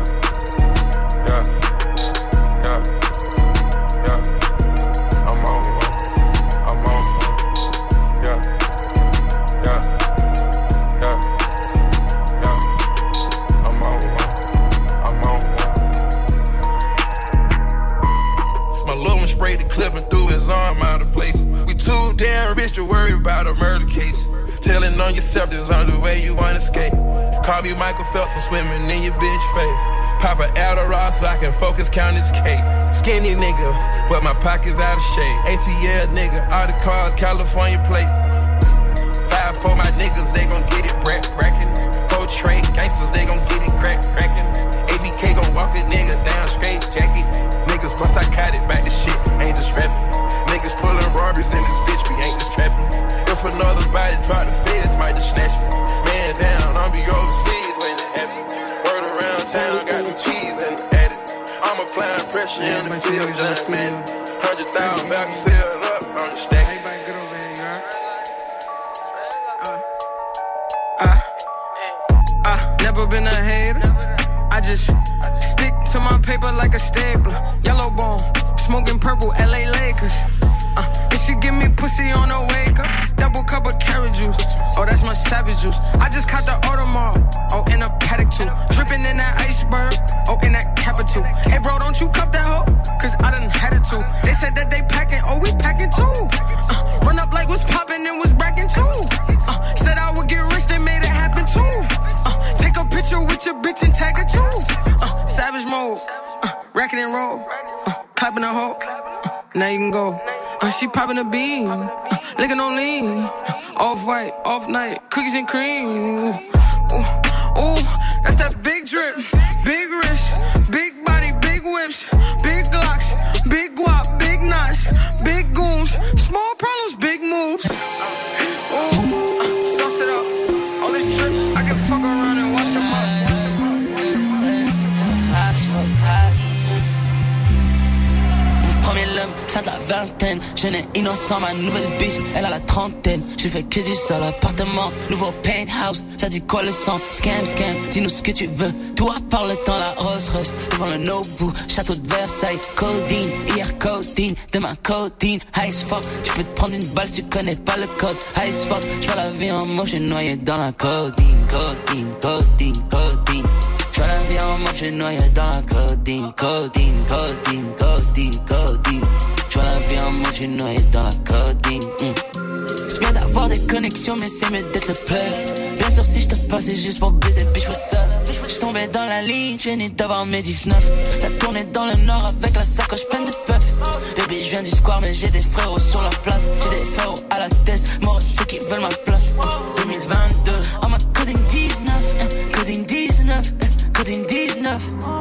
I'm on one. Yeah. I'm on one. My little one sprayed the clip and threw his arm out of place. We too damn rich to worry about a murder case. Telling on yourself there's only way you wanna escape. Call me Michael Phelps, I'm swimming in your bitch face. Pop an Adderall so I can focus, count this cake. Skinny nigga, but my pockets out of shape. ATL nigga, all the cars, California plates. 5-4 my niggas, they gon' get it brackin'. 4 trade gangsters, they gon' get it crackin'. ABK gon' walk a nigga down straight jacket. Niggas bust psychotic back to shit, ain't just rapping. Niggas pullin' robberies in this bitch, we ain't just trappin'. If another body drop the feds, might just snatch me. Man down, I'll be overseas when it happen. Word around town, got the cheese and the edit. I'm applying pressure in the field, just man. 100,000 back sealed up on the stack. Never been a hater. I just stick to my paper like a stapler. Yellow bone, smoking purple, LA Lakers. If she give me pussy on the wake up, double cup of carrot juice. Oh, that's my savage juice. I just caught the Audemars. Oh, in a paddock too. Dripping in that iceberg. Oh, in that capital. Hey, bro, don't you cup that hoe? Cause I done had it too. They said that they packing. Oh, we packing too. Run up like what's popping and was bracking too. Said I would get rich, they made it happen too. Take a picture with your bitch and tag it too. Savage mode. Racking and roll. Clapping a hoe. Now you can go. She popping a bean, licking on lean. Off-white, off-night, cookies and cream. Ooh, that's that big drip, big wrist, big body, big whips, big glocks, big guap, big knots, big goons, small problems, big moves. Ooh, sauce it up. All this drip, I can fuck around and wash them up. Premier l'homme, fin de la vingtaine. Jeune et innocent, ma nouvelle biche, elle a la trentaine. J'ai fait que du seul appartement, nouveau penthouse. Ça dit quoi le sang? Scam, scam, dis-nous ce que tu veux. Tout à part le temps, la Rolls Royce. Devant le Nobu, château de Versailles. Codeine, hier codeine, demain codeine. High as fuck, tu peux te prendre une balle si tu connais pas le code. High as fuck, j'vois la vie en moche, noyé dans la codeine. Codeine, codeine, codeine. J'vois la vie en moche, noyé dans la codeine. Codeine, codeine, codeine, codeine. J'vois la vie en moche, noyé dans la codeine. C'est bien d'avoir des connexions, mais c'est mieux d'être le plug. Bien sûr, si j'te passe, c'est juste pour baiser, bitch, what's up? J'suis tombé dans la ligne, j'viens d'avoir mes 19. Ça tournait dans le nord avec la sacoche pleine de puff. Baby, j'viens du square, mais j'ai des frérots sur la place. J'ai des frérots à la tête, moi ceux qui veulent ma place. 2022, en mode coding 19, coding 19, coding 19.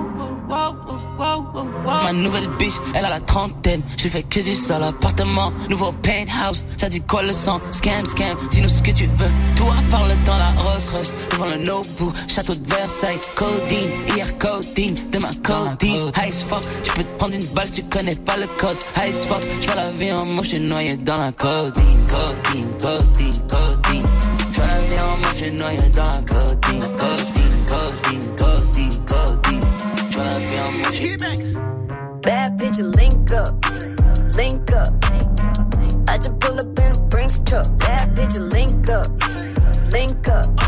Ma nouvelle biche, elle a la trentaine. J'ai fait que du seul appartement, nouveau penthouse. Ça dit quoi le sang? Scam, scam, dis-nous ce que tu veux. Tout à part le temps, la Rolls Royce. Devant le Nobu, château de Versailles. Codeine, hier codeine, demain codeine. High as fuck, tu peux te prendre une balle si tu connais pas le code. High as fuck, j'vois la vie en moche, noyé dans la codeine. Codeine, codeine, codeine. J'vois la vie en moche, noyé dans la codeine. Codeine, codeine, codeine, codeine. J'vois la vie en moche. Bad bitch, link up, link up. I just pull up in a Brinks truck. Bad bitch, link up, link up.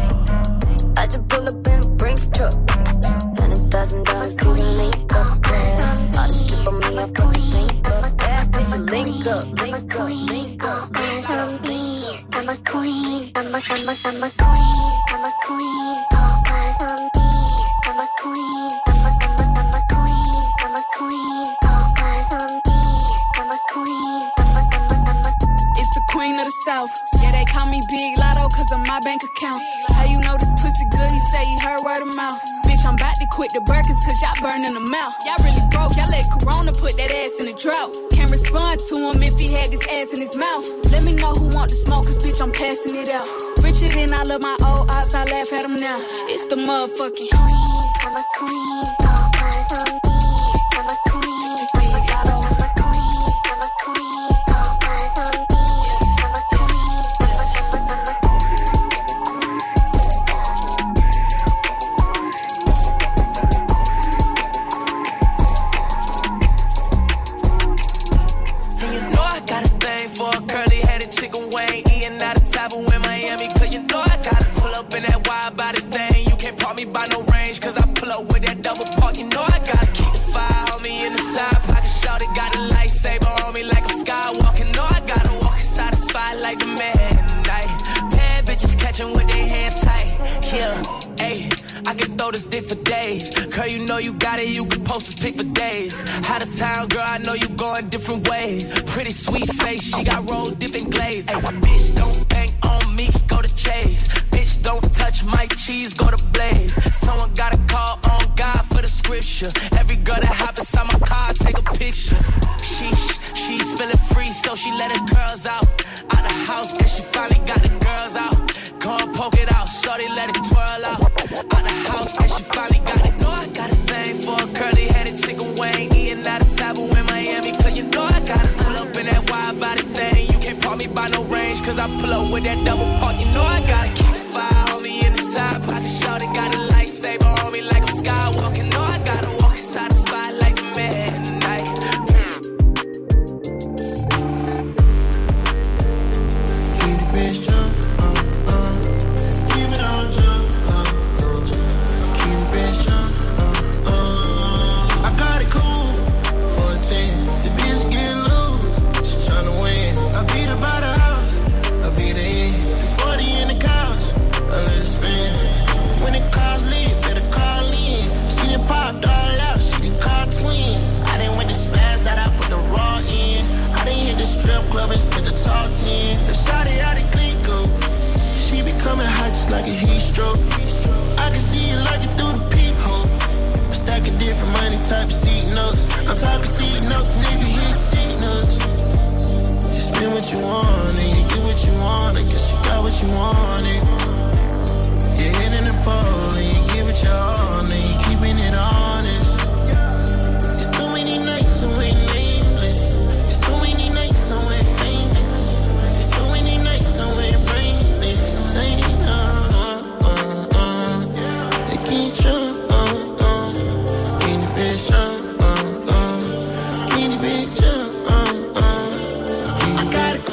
eyes on me. I'm a queen. I'm a queen. I'm a queen. All eyes on me. I'm a queen. I'm a queen. I'm a queen. All eyes on me. I'm a queen. It's the queen of the South. Yeah, they call me Big Lotto 'cause of my bank account. How you know this pussy good? He say he heard word of mouth. Bitch, I'm about to quit the Birkins 'cause y'all burning them out. Y'all really broke. Y'all let Corona put that ass in the drought. Can't respond to him if he had this ass in his mouth. Let me know who want to smoke 'cause bitch, I'm passing it out. Richer than all of my old ops, I laugh at them now. It's the motherfucking queen. I'm a queen. All eyes on me. I'm a queen. Big Lotto. I'm a queen. I'm a queen. All eyes on me. I'm a queen. And you know I got a thing for a curly-headed chicken wing. Eating out of Tavern in Miami. 'Cause you know I gotta pull up in that wide-body thing. You can't park me by no range 'cause I pull up with that double park. You know I gotta keep the fire on me in the side pocket. Shorty got a lightsaber on me like I'm skywalking. Know I gotta walk inside the spot like the man tonight. Bad bitches catching with their hands tight. Yeah, ayy, I can throw this dick for days. Girl, you know you got it, you can post this pic for days. Out of town, girl, I know you going different ways. Pretty sweet face, she got roll dipping glaze. Ayy, bitch, don't bank on me, go to Chase. Bitch, don't touch my cheese, go to Blaze. Someone gotta call on God for the scripture. Every girl that hop inside my car, take a picture. She's feeling free, so she let her girls out the house, and she finally got the girls out. Go and poke it out, shorty let it twirl out the house, and she finally got it. Know I got a thing for a curly-headed chicken wing. Eating out of Tavern in Miami. 'Cause you know I gotta pull up in that wide-body thing. You can't park me by no range 'cause I pull up with that double park. You know I gotta keep the fire on me in the side pocket. Shorty got a lightsaber on me like I'm skywalking. Know I gotta walk inside the spot like the man tonight. Keep the bitch jump, keep it on jump, keep the bitch jump, I got it cool for a 10. The bitch getting loose, she tryna win. I beat her by the house, I beat her in. It's 40 in the couch, I let it spin. When it calls lit, better call in. She done popped all out, she done called twin. I done went to spaz that I put the raw in. I done hit the strip club and spent the top 10. The shawty out of Glico, she be coming hot just like a heat stroke. I can see you like it through the peephole. I'm stacking different money type of seat notes. I'm talking seat notes, nigga, hit seat notes. You spend what you want and you get what you want. I guess you got what you wanted. You're hitting the pole and you give it your all and you keeping it honest. It's too many nights so we're nameless. It's too many nights so we're famous. It's too many nights so we're brainless. Saying they can't jump, keep the bitch jump, keep the bitch jump, I got it,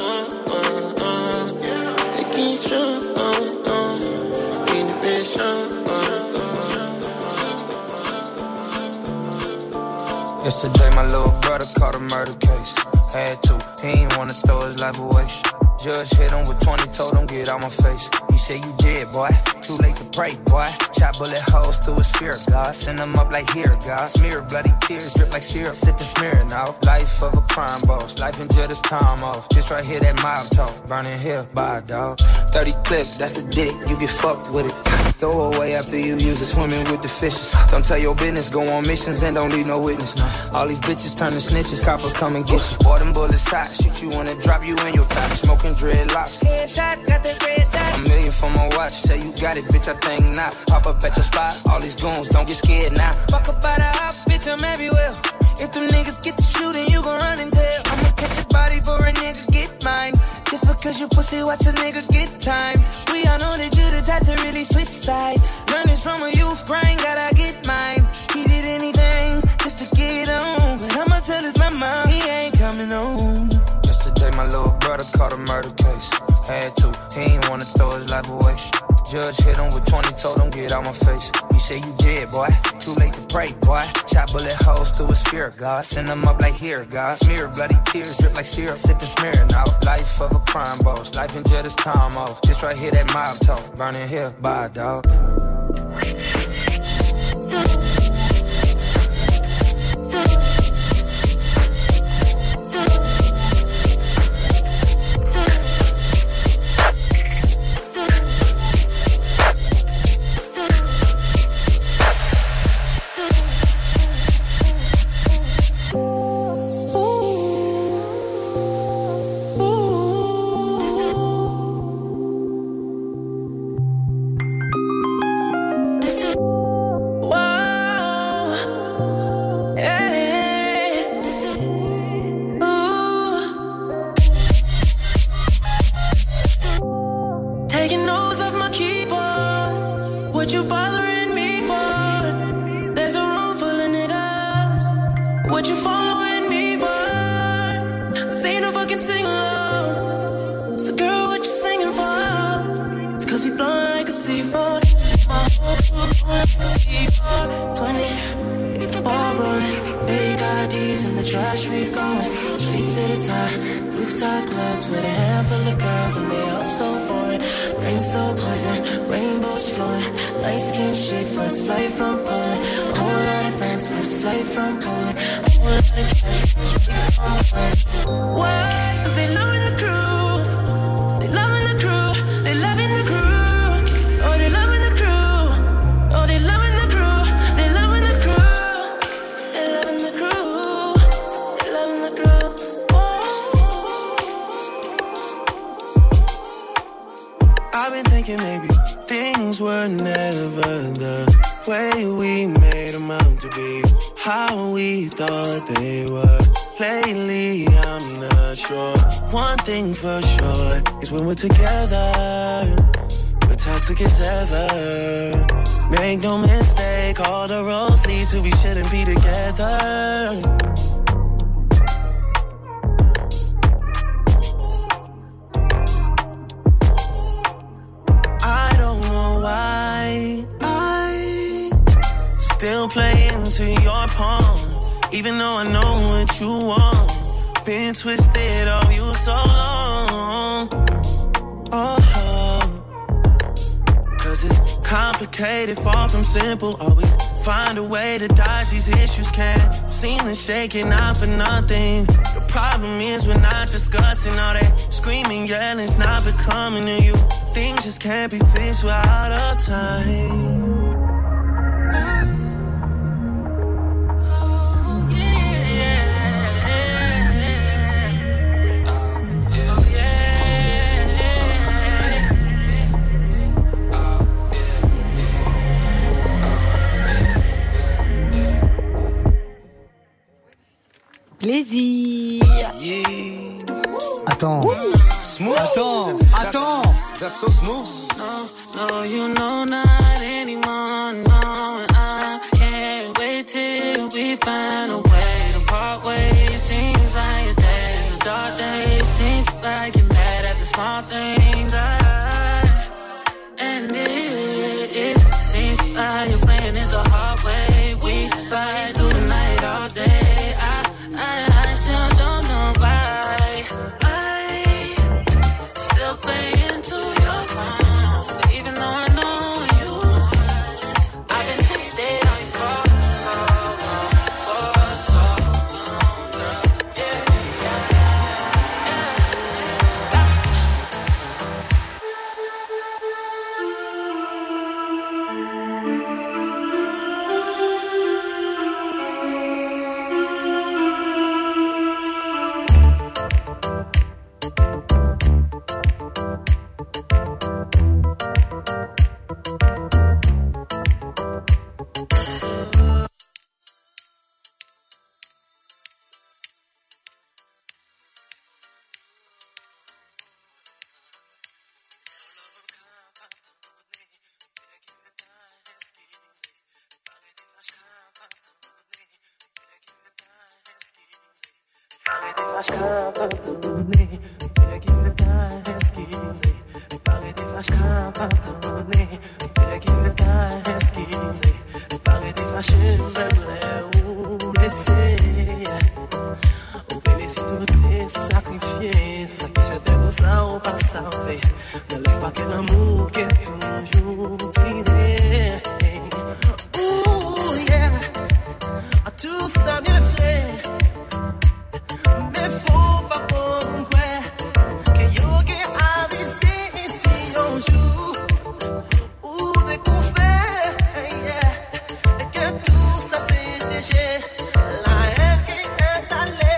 they can't jump, keep the bitch jump. Yesterday my little brother caught a murder case. Had to, he ain't wanna throw his life away. Judge hit him with 20, told him get out my face. He said you dead, boy, too late to pray, boy. Shot bullet holes through his spirit, God. Send him up like here, God. Smear bloody tears, drip like syrup. Sipping smearing off. Life of a crime boss. Life in jail, this time off. This right here, that mob talk. Burning here, bye, dog. 30 clip, that's a dick. You get fucked with it. Throw away after you use it. Swimming with the fishes. Don't tell your business. Go on missions and don't need no witness. All these bitches turning snitches. Coppers come and get you. Boy, them bullets hot. Shoot you wanna drop you in your top. Smoking dreadlocks. Headshot, got that red dot. $1 million for my watch. Say you got it, bitch, I think not. Pop up at your spot. All these goons, don't get scared now. Fuck up by the hop, bitch, I'm everywhere. If them niggas get to shooting, you gon' run and tell. I'ma catch a body for a nigga, get mine. Just because you pussy, watch a nigga get time. We all know that you the type to really switch sides. Learn this from a youth brain, gotta get mine. He did anything just to get on. But I'ma tell his mama, he ain't coming home. Yesterday my little brother caught a murder case. Had to, he ain't wanna throw his life away. Judge hit him with 20, told him get out my face. He said you dead, boy. Too late to pray, boy. Shot bullet holes through his spirit, God. Send him up like here, God. Smear bloody tears, drip like syrup. Sipping smear now. Life of a crime boss. Life in jail, this time off. This right here, that mob talk. Burning here, bye, dog. Always find a way to dodge these issues. Can't seem to shake it, not for nothing. The problem is we're not discussing all that screaming, yelling's not becoming to you. Things just can't be fixed without a time. Plaisir. Yes. Attends. Smooth. Attends. That's so smooth. No, you know not anymore. No, I can't wait till we find a way to part ways. Seems like your days are dark days. Seems like you're mad at the small things. And it seems like you're playing it the hard way. We fight through the night all day. I still don't know why I still play into your phone. But even though I know you, I've been twisted on you for so long, girl. Parler des vaches, ou pas salvé. Ne laisse pas que l'amour qui est toujours tiré. Ouh, yeah. À tout ça bien fait. Mais faut pas qu'on croit que yo qui a visé ici un jour. Ou de qu'on fait, yeah. Et que tout ça c'est déjà. La haine qui est installée.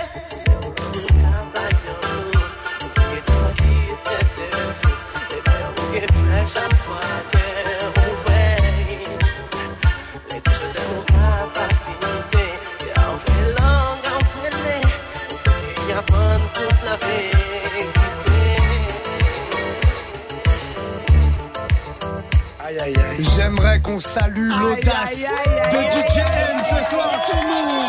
J'aimerais qu'on salue l'audace de DJ M ce soir sur nous.